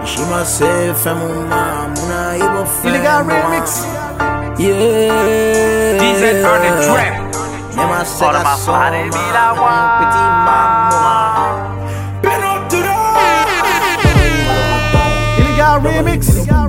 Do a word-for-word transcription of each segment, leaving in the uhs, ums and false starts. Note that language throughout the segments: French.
Shimase Femuna Muna Ibo Illegal remix. Yeah. D Z on the track. Nema All of my Sega body be like Soma one. Petit Mama. Been up to the Illegal remix.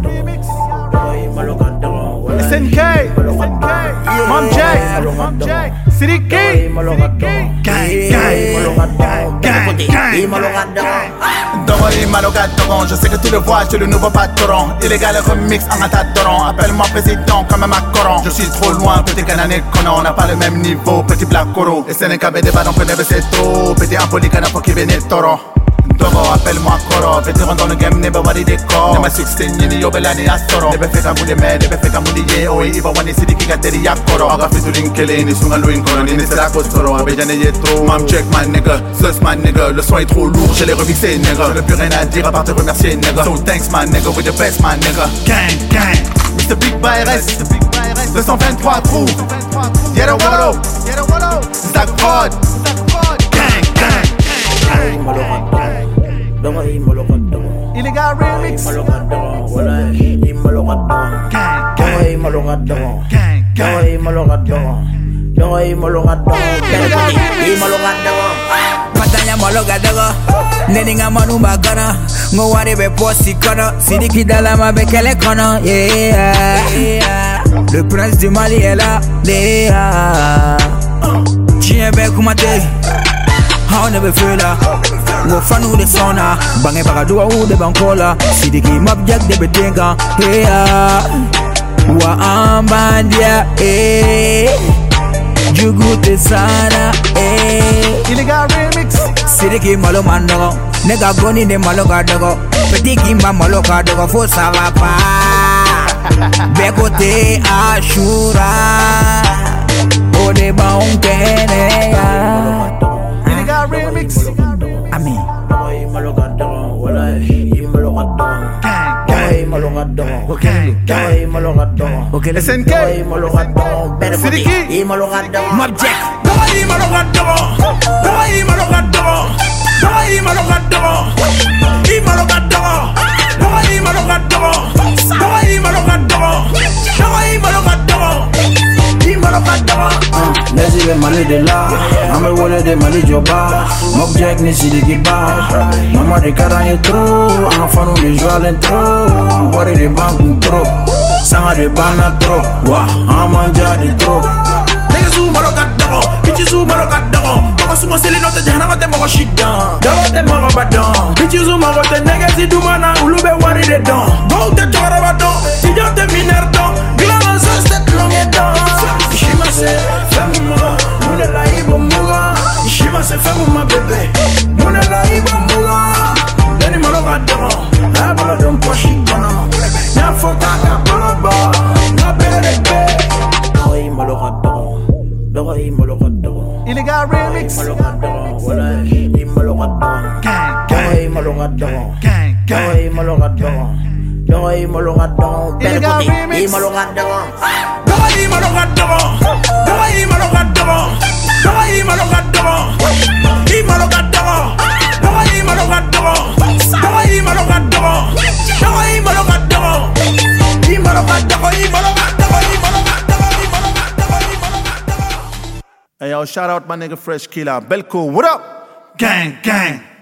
S N K. Mom J. Mom J. City King. Gang, gang, gang, gang, gang. Doro et Maloga Doron, je sais que tu le vois, je suis le nouveau patron. Illégal remix en attendant, appelle-moi président comme un Macron. Je suis trop loin, petit canané qu'on on n'a pas le même niveau, petit black coro. Et c'est un cabé de ballon que ne c'est tout, petit impoli cana pour qui venait toro. Doro, appelle-moi Koro, vétéran dans le game, ne va voir des décors. Ne m'a sixteen, ni yo belani astoro. Ne be fait qu'un bout de mer, ne be fait qu'un bout de yé, oh, il va voir les sidis qui gâtent des yakoro. Aga fait tout l'inkelé, ni sunga louin koro, ni ne sera costoro, abéjane yétro. Mam check, my nigga, sus, my nigga, le son est trop lourd, je l'ai remixé, nigga. Je n'ai plus rien à dire à part te remercier, nigga. So thanks, my nigga, with the best, my nigga. Gang, gang. mister Big Virus, deux cent vingt-trois trous. Yellow Wallow, Stack Prod. Gang, gang. Illegal remix. Gang, gang, gang, Matanya maloga dago Neninga manu bagana Ngowari be posi kono Sidiki dalama be kele kono Yeah, le prince du Mali est là Yeah, Chien be kumate How never feel la Wo fanu de sona Bange bagadua u de bankola Sidiki mabjak de betenga Yeah, wa ambandia Eh Jugute sana eh Illegal remix. Sidiki malo mandogo Nega goni ne malo kadogo Petiki ma malo kadogo Fo sava pa Bekote ashura Ode ba unkene ya Illegal remix. Amin S N K. Sidiki. Mob Jack Nezi be Mali de la, ame wole de Mali joba. Mob Jack ni Sidiki ba. Mama de karanye tro, anga fanu de joie l'intro. Wari de banku tro, sanga de bana tro. Wa, amanja de tro. Nigga su Maloga Doron, bitches su Maloga Doron. Mama su maseli no te jahana mate moko shit down. Dawa te moko badon, bitches su moko te nigga si dumana ulube wari de don. Go te chora badon, si yo te miner don. Glama sa stet longe don. Shima se femuma, mune la ibo muga. Shima se femuma bebe, mune la ibo muga. Deni Maloga Doron, abala don po shit down. Nya foka ka baba, na bere be. Illegal remix. Gang, gang, gang, gang. Illegal remix. Hey yo, shout out my nigga Fresh Killer. Belko, what up? Gang, gang.